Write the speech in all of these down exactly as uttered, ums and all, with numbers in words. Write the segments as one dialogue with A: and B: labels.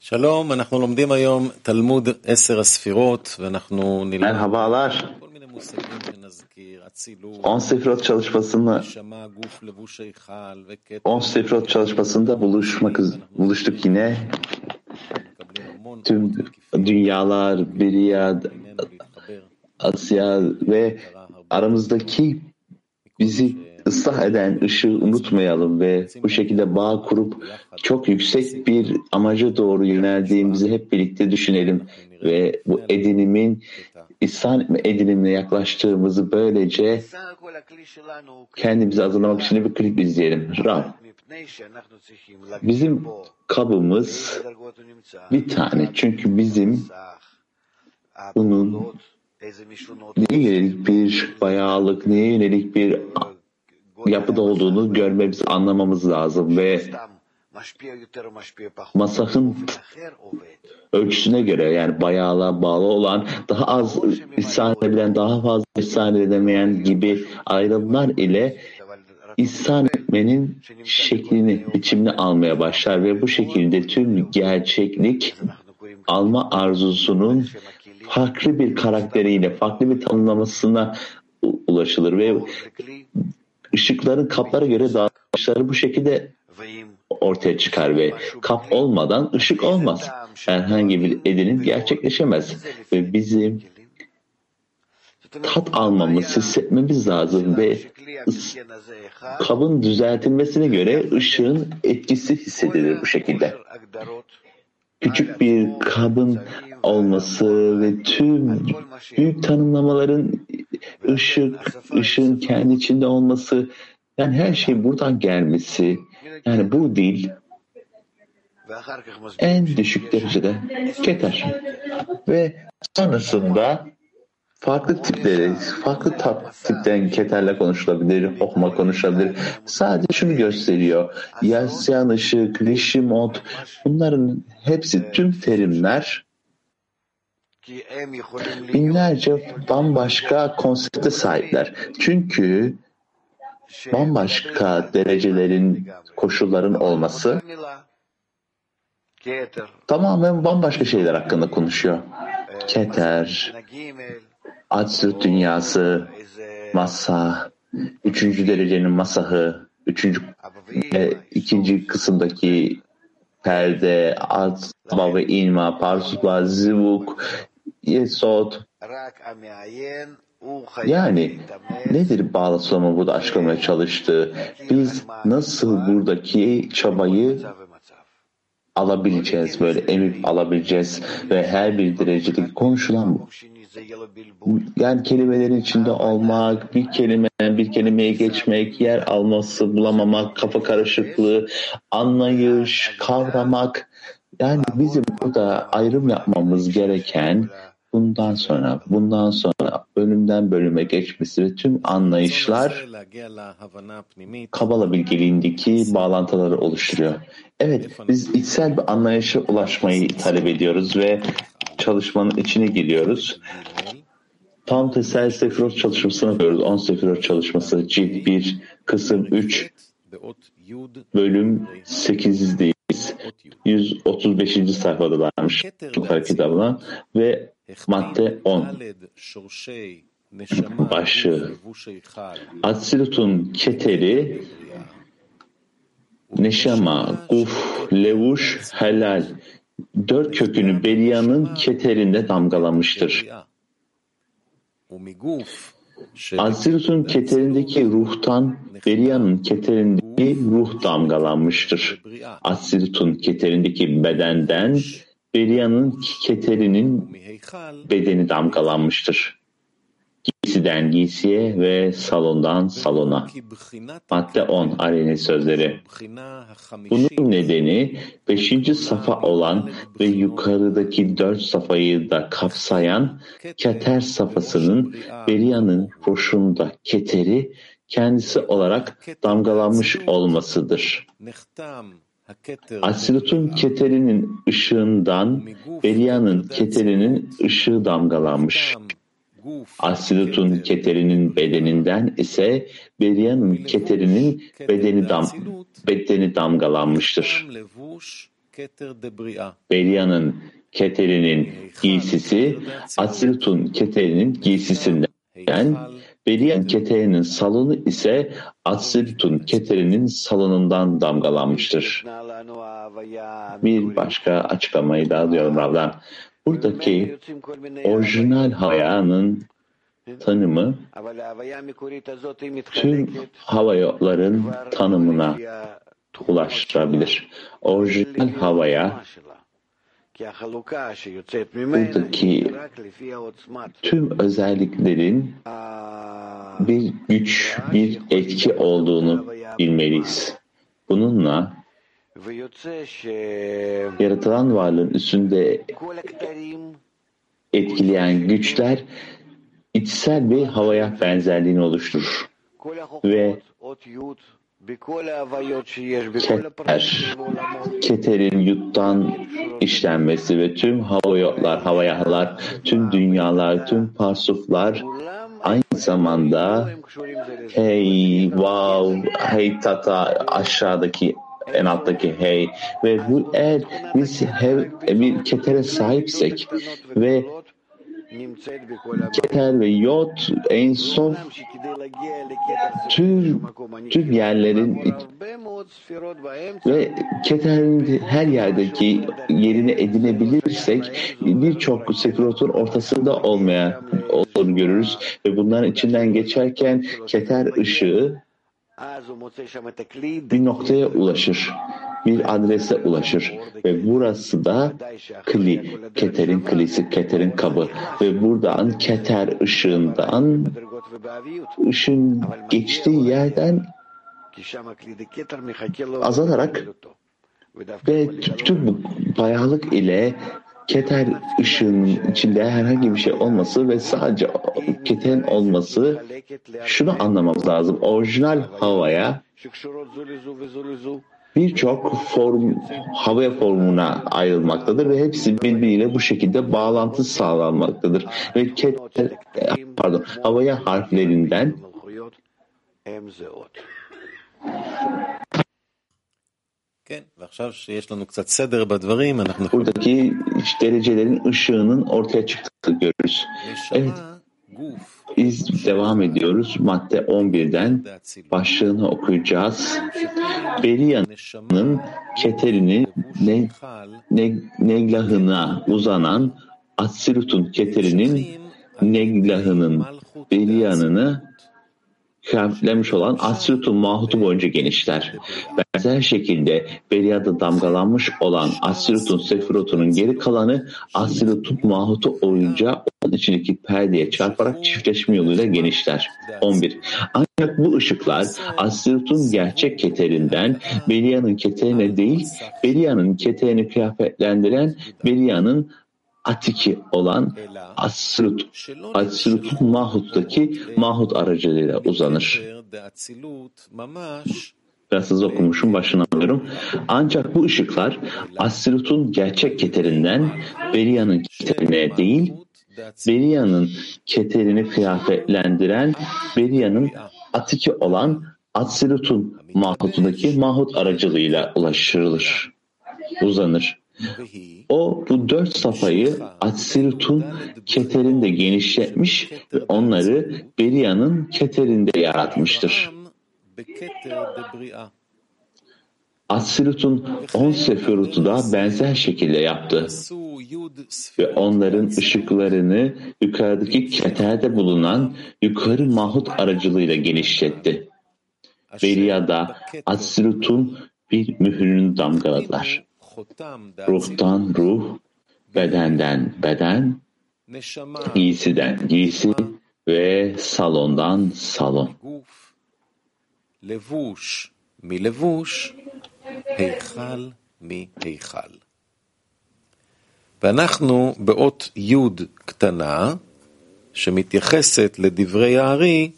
A: שלום, אנחנו לומדים היום תלמוד עשר הספירות ואנחנו נלמד
B: Merhabalar.
A: כל מיני מושגים שנזכיר, אצילות,
B: on sefirot çalışmasını
A: נשמה, גוף, לבוש היכל וכתר.
B: on sefirot çalışmasında buluşmak buluştuk yine.
A: מקבלים המון
B: Tüm
A: אורות מקיפים
B: dünyalar, Biriyad,
A: ממנו להתחבר.
B: Asya ve aramızdaki bizi ıslah eden ışığı unutmayalım ve bu şekilde bağ kurup çok yüksek bir amaca doğru yöneldiğimizi hep birlikte düşünelim ve bu edinimin İhsan edinimine yaklaştığımızı böylece kendimizi hazırlamak için bir klip izleyelim. Rab, bizim kabımız bir tane çünkü bizim bunun neye yönelik bir bayağılık, neye yönelik bir yapıda olduğunu görmemiz, anlamamız lazım ve masahın ölçüsüne göre yani bayağılığa bağlı olan daha az ihsan edebilen, daha fazla ihsan edemeyen gibi ayrımlar ile ihsan etmenin şeklini, biçimini almaya başlar ve bu şekilde tüm gerçeklik alma arzusunun farklı bir karakteriyle, farklı bir tanımlamasına ulaşılır ve ışıkların kaplara göre dağılışları bu şekilde ortaya çıkar ve kap olmadan ışık olmaz. Herhangi bir edinim gerçekleşemez ve bizim tat almamız, hissetmemiz lazım ve kabın düzeltilmesine göre ışığın etkisi hissedilir bu şekilde. Küçük bir kabın olması ve tüm büyük tanımlamaların ışık, ışığın kendi içinde olması, yani her şey buradan gelmesi, yani bu dil en düşük derecede keter. Ve sonrasında farklı tipleri, farklı tipten keterle konuşulabilir, hokma konuşulabilir. Sadece şunu gösteriyor. Yasyan ışık, rişimot, bunların hepsi tüm terimler binlerce bambaşka konsepte sahipler. Çünkü bambaşka derecelerin, koşulların olması tamamen bambaşka şeyler hakkında konuşuyor. Keter, Atsut dünyası, masa, üçüncü derecenin masahı, üçüncü e, ikinci kısımdaki perde, atma ve inma, parsutla, zivuk, yesod. Yani nedir bağlama burada açıklamaya çalıştığı? Biz nasıl buradaki çabayı alabileceğiz, böyle emip alabileceğiz ve her bir derecedeki konuşulan bu. Yani kelimelerin içinde olmak, bir kelimeden bir kelimeye geçmek, yer alması, bulamamak, kafa karışıklığı, anlayış, kavramak. Yani bizim burada ayrım yapmamız gereken bundan sonra, bundan sonra bölümden bölüme geçmesi ve tüm anlayışlar Kabala bilgeliğindeki bağlantıları oluşturuyor. Evet, biz içsel bir anlayışa ulaşmayı talep ediyoruz ve çalışmanın içine giriyoruz. Tam tesel sefirot çalışmasına yapıyoruz. on sefirot çalışması cilt bir, kısım üç, bölüm sekizdeyiz. yüz otuz beşinci sayfada varmış kitabına ve madde on. Başlığı. Atsilut'un keteri, neşama, guf, levuş, helal. Dört kökünü Beriya'nın keterinde damgalamıştır. Atsilut'un keterindeki ruhtan Beriya'nın keterindeki ruh damgalanmıştır. Atsilut'un keterindeki bedenden Beriya'nın keterinin bedeni damgalanmıştır. Giysiden giysiye ve salondan salona. Madde on Ari'nin sözleri. Bunun nedeni beşinci safa olan ve yukarıdaki dört safayı da kapsayan keter safasının Beriya'nın boşunda keteri kendisi olarak damgalanmış olmasıdır. Atsilut'un keterinin ışığından Beriya'nın keterinin ışığı damgalanmış. Atsilut'un keterinin bedeninden ise Beriya'nın keterinin bedeni, dam, bedeni damgalanmıştır. Beria'nın Keterinin giysisi Atsirut'un Keterinin giysisinden, Beria'nın Keterinin salonu ise Atsirut'un Keterinin salonundan damgalanmıştır. Bir başka açıklamayı daha diyorum Rav'dan. Buradaki orijinal havanın tanımı tüm hava yolların tanımına ulaştırabilir. Orijinal havaya buradaki tüm özelliklerin bir güç, bir etki olduğunu bilmeliyiz. Bununla yaratılan varlığın üstünde etkileyen güçler içsel bir havaya benzerliğini oluşturur. Ve Keter, Keter'in yuttan işlenmesi ve tüm hava yollar, havayalar, tüm dünyalar, tüm parsuflar aynı zamanda hey, wow, hey tata, aşağıdaki en alttaki hey ve bu eğer biz hev, bir Keter'e sahipsek ve Keter ve Yod en son tüm, tüm yerlerin ve Keter'in her yerdeki yerini edinebilirsek birçok sefirotun ortasında olmaya olduğunu görürüz ve bunların içinden geçerken Keter ışığı bir noktaya ulaşır, bir adrese ulaşır ve burası da kli, Keter'in klisi, Keter'in kabı ve buradan Keter ışığından, ışın geçtiği yerden azalarak ve tüm bu bayağılık ile Keter ışığının içinde herhangi bir şey olması ve sadece Keter'in olması, şunu anlamamız lazım. Orijinal havaya birçok form, hava formuna ayrılmaktadır ve hepsi birbiriyle bu şekilde bağlantı sağlanmaktadır. Ve Keter, pardon, havaya harflerinden buradaki derecelerin ışığının ortaya çıktığını görürüz. Evet, biz devam ediyoruz. Madde on birden başlığını okuyacağız. Beria'nın Keterini ne, ne, Neglahına uzanan Atsirut'un Keterinin Neglahının Beria'nını kıyafetlenmiş olan Atsirut'un mahutu boyunca genişler. Benzer şekilde Beria'da damgalanmış olan Atsirut'un sefirotunun geri kalanı Atsirut'un mahutu boyunca onun içindeki perdeye çarparak çiftleşme yoluyla genişler. on bir. Ancak bu ışıklar Atsirut'un gerçek Keterinden Beria'nın Keterine değil, Beria'nın Keterini kıyafetlendiren Beria'nın Atiki olan Atsirut, Atsirut'un Mahut'taki Mahut aracılığıyla uzanır. Biraz hızlı okumuşum, başını alıyorum. Ancak bu ışıklar Atsirut'un gerçek Keterinden Beria'nın Keterine değil, Beria'nın Keterini kıyafetlendiren Beria'nın Atiki olan Atsirut'un Mahut'undaki Mahut aracılığıyla ulaştırılır, uzanır. O bu dört safhayı Atsirut'un Keterinde genişletmiş ve onları Beria'nın Keterinde yaratmıştır. Atsirut'un on sefirotu da benzer şekilde yaptı ve onların ışıklarını yukarıdaki Keter'de bulunan yukarı Mahut aracılığıyla genişletti. Beria'da Atsirut'un bir mührünü damgaladılar. Ruhtan ruh, bedenden beden, giysiden giysi ve salondan salon.
A: Levush mi levush, heichal mi heichal. ואנחנו באות י' קטנה, שמתייחסת לדברי הארי,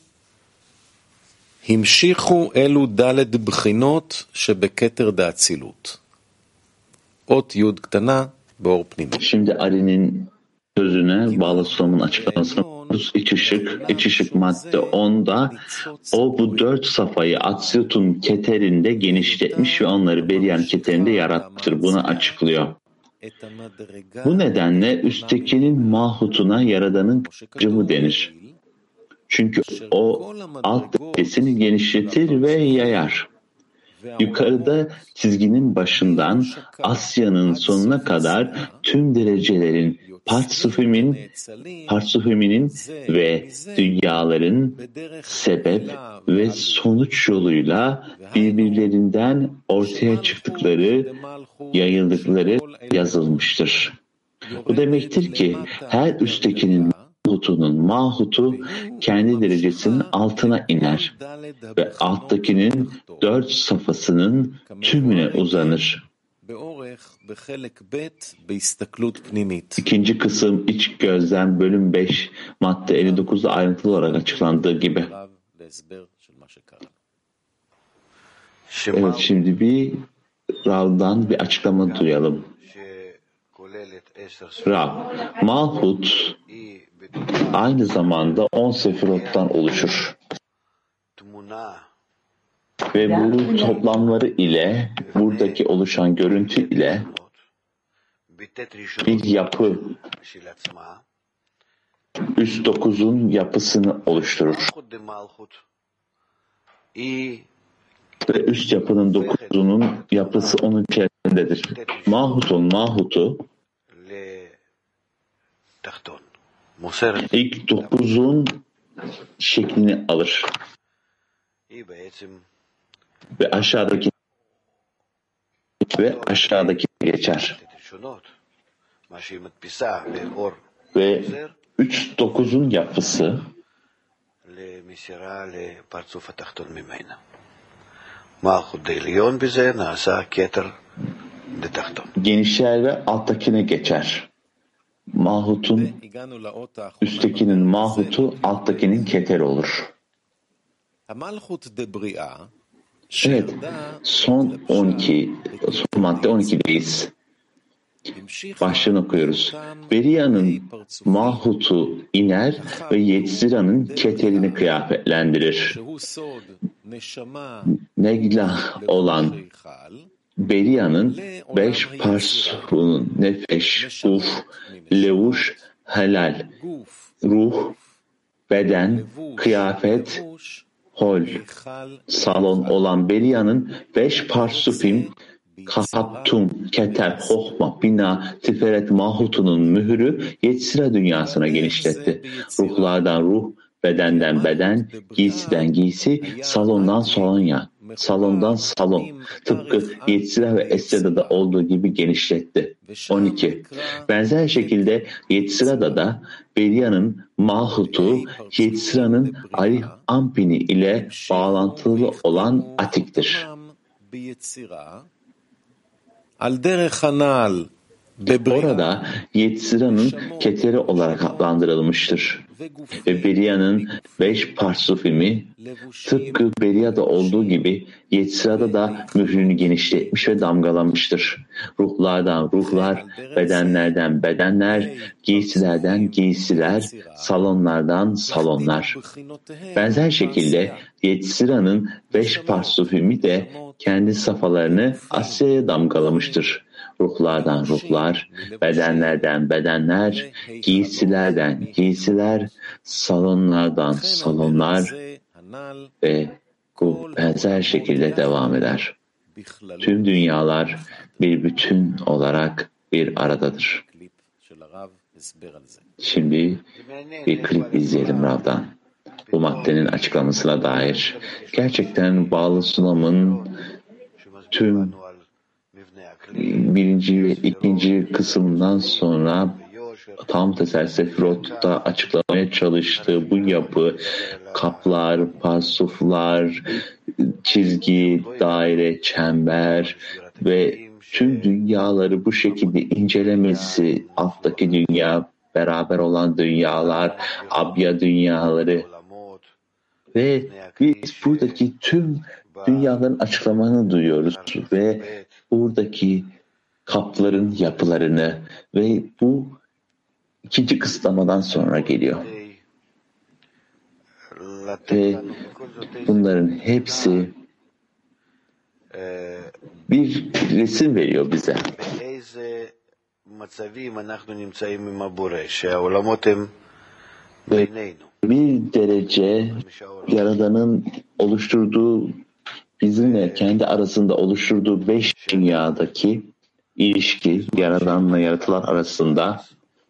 A: המשיכו אלו ד' בחינות שבכתר דאצילות. ot yud ktana bor pnimi.
B: Şimdi Ari'nin sözüne bağlı Sulam'ın açıklamasına dokuz iç ışık, iç ışık madde onda o bu dört safayı Atsiyut'un keterinde genişletmiş ve onları Beryan keterinde yaratmıştır. Bunu açıklıyor. Bu nedenle üsttekinin mahutuna Yaradan'ın kıcımı denir. Çünkü o alt derecesini genişletir ve yayar. Yukarıda çizginin başından Asya'nın sonuna kadar tüm derecelerin Partsufim'in, Partsufim'inin ve dünyaların sebep ve sonuç yoluyla birbirlerinden ortaya çıktıkları, yayıldıkları yazılmıştır. Bu demektir ki her üsttekinin mahutunun mahutu kendi derecesinin altına iner ve alttakinin dört safhasının tümüne uzanır. İkinci kısım iç gözlem bölüm beş madde elli dokuzda ayrıntılı olarak açıklandığı gibi. Evet, şimdi bir Rav'dan bir açıklama duyalım. Rav, Malhut aynı zamanda on sefirottan oluşur. Ve bu toplamları ile, buradaki oluşan görüntü ile bir yapı, üst dokuzun yapısını oluşturur. Ve üst yapının dokuzunun yapısı onun içerisindedir. Mahut'un mahutu ilk dokuzun şeklini alır. Ve aşağıdaki ve aşağıdaki geçer. Ve üç dokuzun yapısı genişler ve alttakine geçer. Mahut'un üsttekinin mahutu alttakinin keteri olur. Evet, son on iki, son madde on ikideyiz. Başlığını okuyoruz. Beriya'nın mahutu iner ve Yetzira'nın keterini kıyafetlendirir. Neglah olan Beriya'nın beş parsunun nefeş, uf, levuş, helal, ruh, beden, kıyafet, hol, salon olan Beriya'nın beş parsufim, kahattum, keter, hohma, bina, tiferet mahutunun mührü Yetzira dünyasına genişletti. Ruhlardan ruh, bedenden beden, giysiden giysi, salondan salonya, salondan salon, tıpkı Yetzira ve Esra'da da olduğu gibi genişletti. on iki. Benzer şekilde Yetzira'da da Beriya'nın mahutu, Yetzira'nın Arih Ampini ile bağlantılı olan atiktir. Orada Yetzira'nın keteri olarak adlandırılmıştır. Ve Beriya'nın beş parsufimi tıpkı Beriya'da olduğu gibi Yetzira'da da mührünü genişletmiş ve damgalamıştır. Ruhlardan ruhlar, bedenlerden bedenler, giysilerden giysiler, salonlardan salonlar. Benzer şekilde Yetzira'nın beş parsufimi de kendi safhalarını Asya'ya damgalamıştır. Ruhlardan ruhlar, bedenlerden bedenler, giysilerden giysiler, salonlardan salonlar ve bu benzer şekilde devam eder. Tüm dünyalar bir bütün olarak bir aradadır. Şimdi bir klip izleyelim Rav'dan. Bu maddenin açıklamasına dair. Gerçekten Bağlı Sulam'ın tüm birinci ve ikinci kısımdan sonra tam teser Sefirot'ta açıklamaya çalıştığı bu yapı, kaplar, pasuflar, çizgi, daire, çember ve tüm dünyaları bu şekilde incelemesi, alttaki dünya, beraber olan dünyalar, abya dünyaları ve biz buradaki tüm dünyaların açıklamalarını duyuyoruz ve buradaki kapların yapılarını ve bu ikinci kısıtlamadan sonra geliyor. Ve bunların hepsi bir resim veriyor bize. Ve bir derece Yaradan'ın oluşturduğu, bizimle kendi arasında oluşturduğu beş dünyadaki ilişki, Yaradan'la yaratılan arasında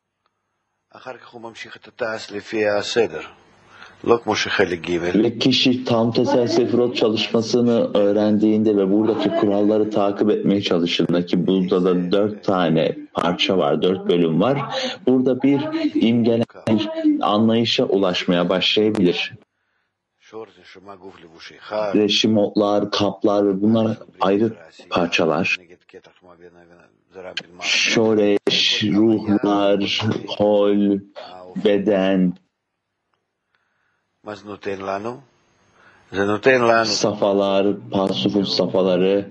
B: ve kişi tam tesel sefirot çalışmasını öğrendiğinde ve buradaki kuralları takip etmeye çalıştığında, ki burada da dört tane parça var, dört bölüm var. Burada bir imgelenen bir anlayışa ulaşmaya başlayabilir. Reşimotlar, kaplar ve bunlar ayrı parçalar. Şoreş, ruhlar, hol, beden, safalar, pasufun safhaları,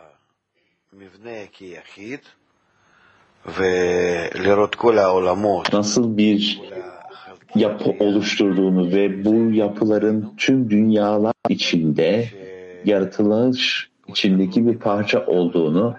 B: nasıl bir yapı oluşturduğunu ve bu yapıların tüm dünyalar içinde yaratılış içindeki bir parça olduğunu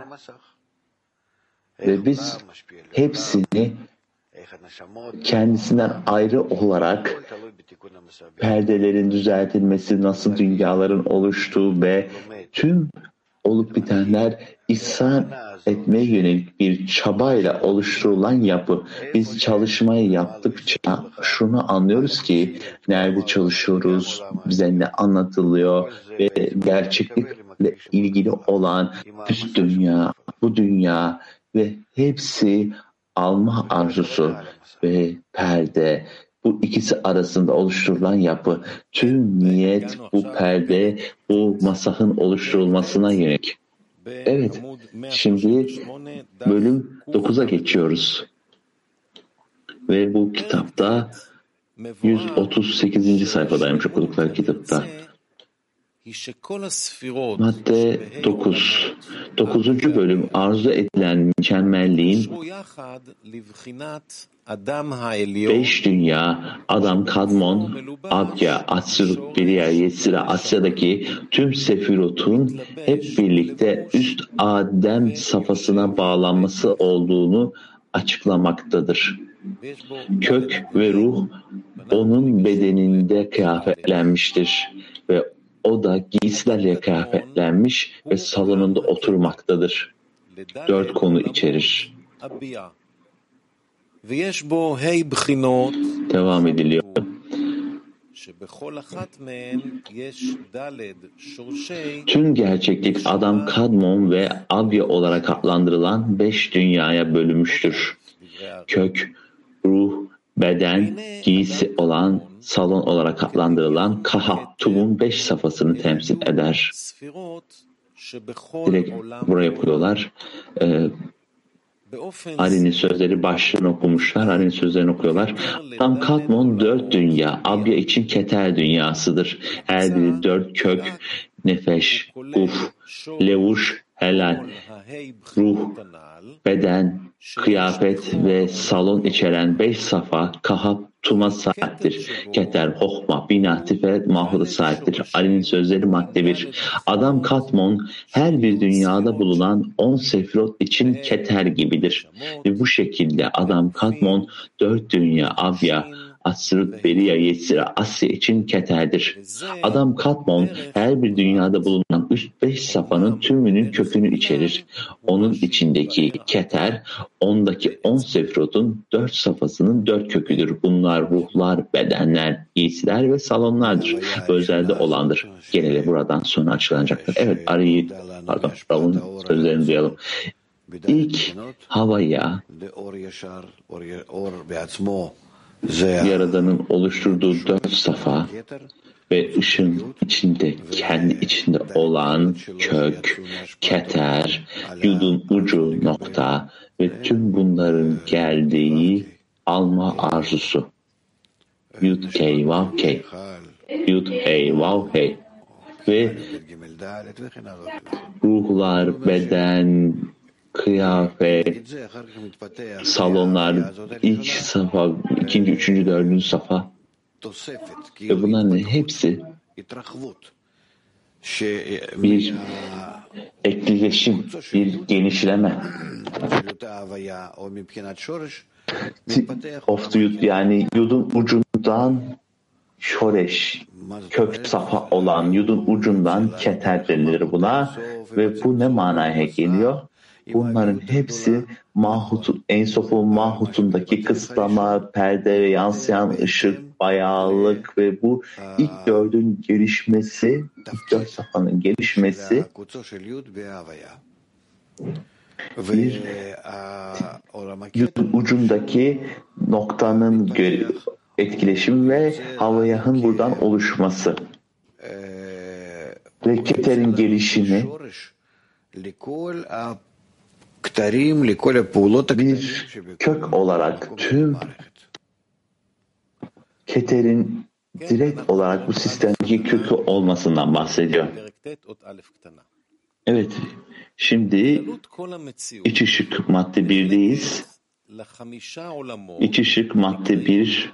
B: ve biz hepsini kendisinden ayrı olarak perdelerin düzeltilmesi, nasıl dünyaların oluştuğu ve tüm olup bitenler ihsan etmeye yönelik bir çabayla oluşturulan yapı. Biz çalışmayı yaptıkça şunu anlıyoruz ki nerede çalışıyoruz, bize ne anlatılıyor ve gerçeklikle ilgili olan üst dünya, bu dünya ve hepsi alma arzusu ve perde, bu ikisi arasında oluşturulan yapı. Tüm niyet bu perde, bu masahın oluşturulmasına yönelik. Evet, şimdi bölüm dokuza geçiyoruz. Ve bu kitapta yüz otuz sekizinci sayfadaymış okudukları kitapta. Madde dokuz. dokuzuncu bölüm arzu edilen mükemmelliğin beş dünya, Adam, Kadmon, Abya, Atsir, Beriya, Yetzira, Asya'daki tüm sefirotun hep birlikte üst Adem safhasına bağlanması olduğunu açıklamaktadır. Kök ve ruh onun bedeninde kıyafetlenmiştir ve o da giysilerle kıyafetlenmiş ve salonunda oturmaktadır. Dört konu içerir. Devam ediliyor. Tüm gerçeklik Adam, Kadmon ve Abya olarak adlandırılan beş dünyaya bölünmüştür. Kök, ruh, beden, giysi olan salon olarak adlandırılan Kahattum'un beş safhasını temsil eder. Direkt buraya koyuyorlar. Ee, Ali'nin sözleri başlığını okumuşlar. Ali'nin sözlerini okuyorlar. Tam Kadmon dört dünya, Abya için Keter dünyasıdır. Her biri dört kök, nefeş, uf, levuş, helal, ruh, beden, kıyafet ve salon içeren beş safa Kahat Tuma sahiptir. Keter, Hohma, Bina, Tiferet, Mahur'a sahiptir. Ali'nin sözleri madde bir. Adam Kadmon her bir dünyada bulunan on sefirot için Keter gibidir. Ve bu şekilde Adam Kadmon dört dünya, Abya, Atsirut, Beriya, Yetzira, Asya için Keter'dir. Adam Kadmon her bir dünyada bulunan üst beş safhanın tümünün kökünü içerir. Onun içindeki Keter, ondaki on sefirotun dört safhasının dört köküdür. Bunlar ruhlar, bedenler, giysiler ve salonlardır. Özelde olandır. Geneli buradan sonra açıklanacaktır. Evet, Ari'yi, pardon, Rav'ın sözlerini duyalım. İlk havaya Yaradan'ın oluşturduğu dört safa ve ışın içinde, kendi içinde olan kök, keter, yudun ucu nokta ve tüm bunların geldiği alma arzusu. Yud key vav key. Yud hey vav hey. Ve ruhlar, beden, kıyafet, salonlar, ilk safa, ikinci, üçüncü, dördüncü safa Ve bunların hepsi bir etkileşim, bir genişleme. Of the yud, yani yudun ucundan şoreş, kök safa olan yudun ucundan keter denilir buna. Ve bu ne manaya geliyor? Bunların hepsi mahutun, Ensof'un mahutundaki kısıtlama, perde ve yansıyan ışık, bayağılık ve bu ilk dördün gelişmesi, ilk dört safhanın gelişmesi bir yudun ucundaki noktanın etkileşim ve havayahın buradan oluşması ve keterin gelişimi bir kök olarak tüm keterin direkt olarak bu sistemdeki kökü olmasından bahsediyor. Evet, şimdi iç ışık madde birdeyiz. İç ışık madde bir,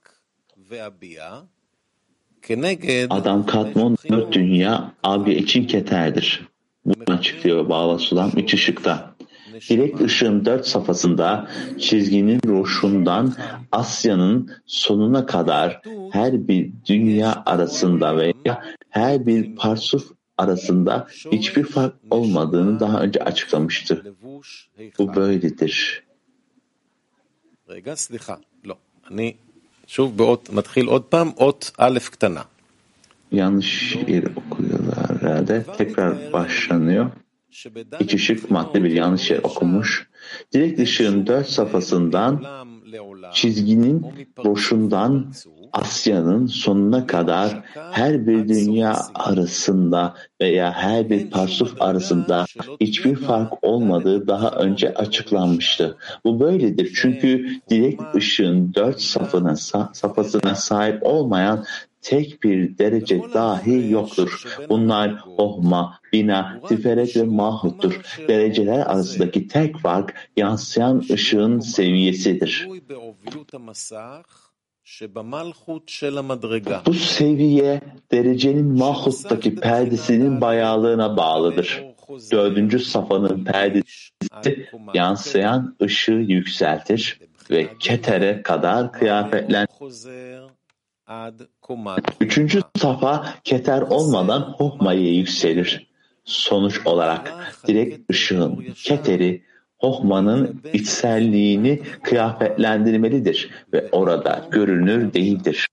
B: Adam Kadmon dört dünya Abya için keterdir. Bunu açıklıyor Bağla Sulam iç ışıkta. Direkt ışığın dört safhasında çizginin roşundan Asya'nın sonuna kadar her bir dünya arasında veya her bir parsuf arasında hiçbir fark olmadığını daha önce açıklamıştı. Bu böyledir. Yanlış yer okuyorlar herhalde. Tekrar başlanıyor. İç ışık madde bir yanlış yer okumuş. Direkt ışığın dört safhasından çizginin roşundan Asya'nın sonuna kadar her bir dünya arasında veya her bir parsuf arasında hiçbir fark olmadığı daha önce açıklanmıştı. Bu böyledir çünkü direkt ışığın dört safhasına, safhasına sahip olmayan tek bir derece dahi yoktur. Bunlar Ohma, Bina, Tiferet ve Mahut'tur. Dereceler arasındaki tek fark yansıyan ışığın seviyesidir. Bu seviye derecenin Mahut'taki perdesinin bayağılığına bağlıdır. Dördüncü safhanın perdesi yansıyan ışığı yükseltir ve ketere kadar kıyafetlendirir. Üçüncü safa keter olmadan Hohma'ya yükselir. Sonuç olarak direkt ışığın keteri Hohma'nın içselliğini kıyafetlendirmelidir ve orada görünür değildir.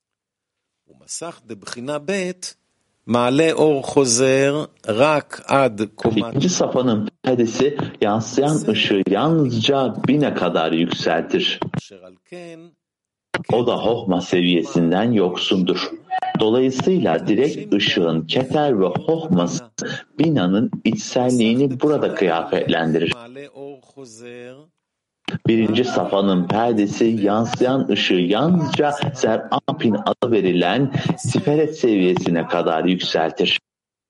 B: İkinci safhanın perdesi yansıyan ışığı yalnızca bine kadar yükseltir. O da Hohma seviyesinden yoksundur. Dolayısıyla direkt ışığın keter ve Hohması binanın içselliğini burada kıyafetlendirir. Birinci safhanın perdesi yansıyan ışığı yalnızca Zer-Anpin adı verilen Tiferet seviyesine kadar yükseltir.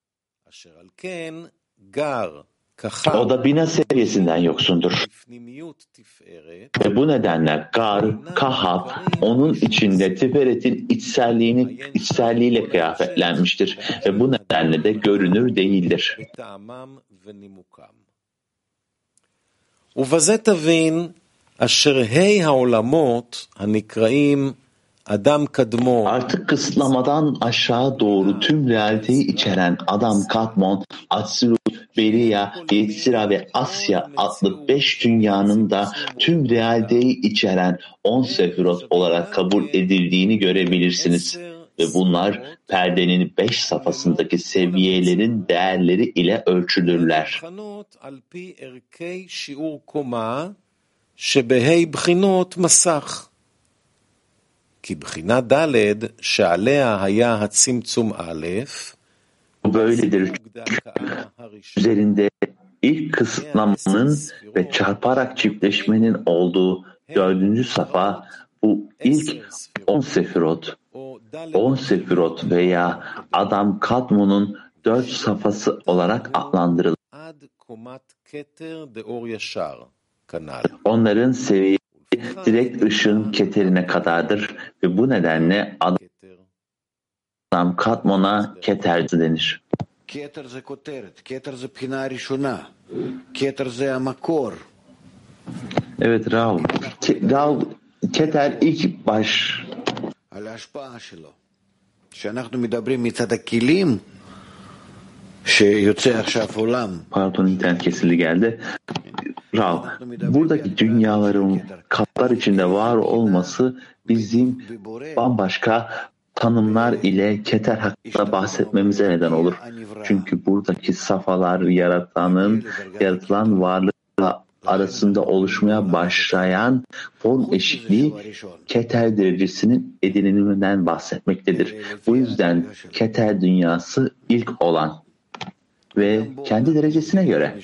B: O da bina seviyesinden yoksundur. Ve bu nedenle Gar, Kahaf, onun içinde Tiferet'in içselliğini, içselliğiyle kıyafetlenmiştir. Ve bu nedenle de görünür değildir.
A: ובזה תבין אשר ה' העולמות הנקראים Adam Kadmon.
B: Artık kısıtlamadan aşağı doğru tüm realiteyi içeren Adam Kadmon, Atsilut, Beriya, Yetzira ve Asya adlı beş dünyanın da tüm realiteyi içeren on sefirot olarak kabul edildiğini görebilirsiniz. Ve bunlar perdenin beş safhasındaki seviyelerin değerleri ile ölçülürler. Bu böyledir. Üzerinde ilk kısıtlamanın ve çarparak çiftleşmenin olduğu dördüncü safa bu ilk on sefirot, on sefirot veya Adam Kadmon'un dört safhası olarak adlandırılır. Onların seviyesi direkt ışığın keterine kadardır ve bu nedenle adam katmona keterci denir.
C: Keter זה כותרת, keter זה בחינה הראשונה, keter זה המקור.
B: Evet Rav. Ke- Rav, keter ilk baş.
C: על ההשפעה שלו. כשאנחנו מדברים מצד הכלים שיוצא עכשיו עולם.
B: Pardon, internet kesildi geldi. Rav, buradaki dünyaların kaplar içinde var olması bizim bambaşka tanımlar ile keter hakkında bahsetmemize neden olur. Çünkü buradaki safhalar yaratanın, yaratılan varlıkla arasında oluşmaya başlayan form eşitliği keter derecesinin ediniminden bahsetmektedir. Bu yüzden keter dünyası ilk olan ve kendi derecesine göre.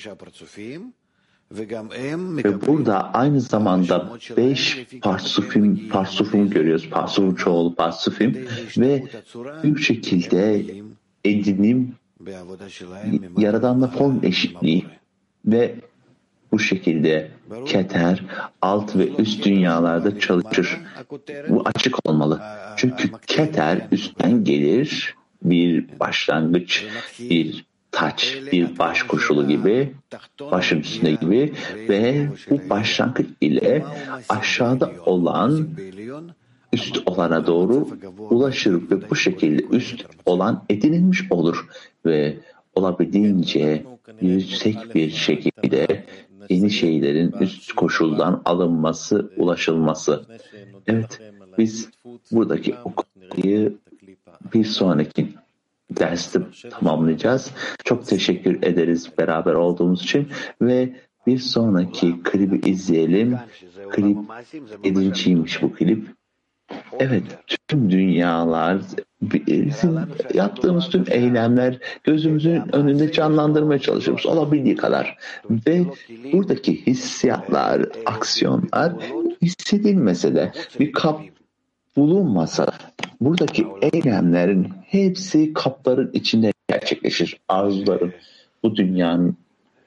B: Ve burada aynı zamanda beş parsufim, parsufim görüyoruz. Parsufun çoğulu parsufim ve bir şekilde edinim, yaradanla form eşitliği ve bu şekilde keter alt ve üst dünyalarda çalışır. Bu açık olmalı. Çünkü keter üstten gelir, bir başlangıç, bir taç, bir baş koşulu gibi, başın üstünde gibi ve bu başlangıç ile aşağıda olan üst olana doğru ulaşır ve bu şekilde üst olan edinilmiş olur ve olabildiğince yüksek bir şekilde yeni şeylerin üst koşuldan alınması, ulaşılması. Evet, biz buradaki okumayı bir sonraki derste tamamlayacağız. Çok teşekkür ederiz beraber olduğumuz için ve bir sonraki klibi izleyelim. Klip yedinciymiş bu klip. Evet, tüm dünyalar, bizim yaptığımız tüm eylemler gözümüzün önünde canlandırmaya çalışıyoruz olabildiği kadar. Ve buradaki hissiyatlar, aksiyonlar hissedilmese de bir kap bulunmasa buradaki eylemlerin hepsi kapların içinde gerçekleşir. Arzuların, bu dünyanın.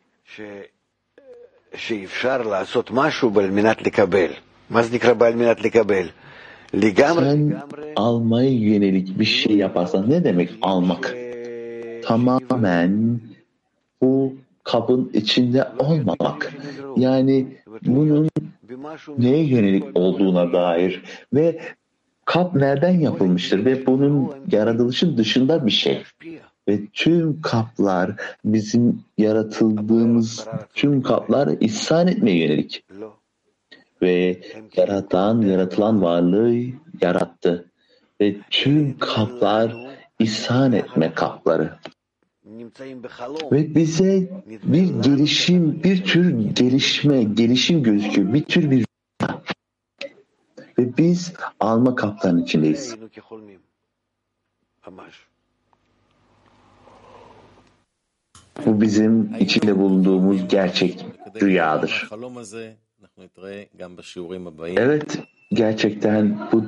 C: שאפשר לעשות משהו על מנת לקבל. מה זה נקרא על מנת לקבל?
B: Sen almaya yönelik bir şey yaparsan ne demek almak? Tamamen bu kabın içinde olmamak. Yani bunun neye yönelik olduğuna dair ve kap nereden yapılmıştır ve bunun yaratılışın dışında bir şey. Ve tüm kaplar bizim yaratıldığımız tüm kaplar ihsan etmeye yönelik. Ve yaratan, yaratılan varlığı yarattı. Ve tüm kaplar ihsan etme kapları. Ve bize bir gelişim, bir tür gelişme, gelişim gözüküyor. Bir tür bir ve biz alma kaplarının içindeyiz. Bu bizim içinde bulunduğumuz gerçek rüyadır. Evet, gerçekten bu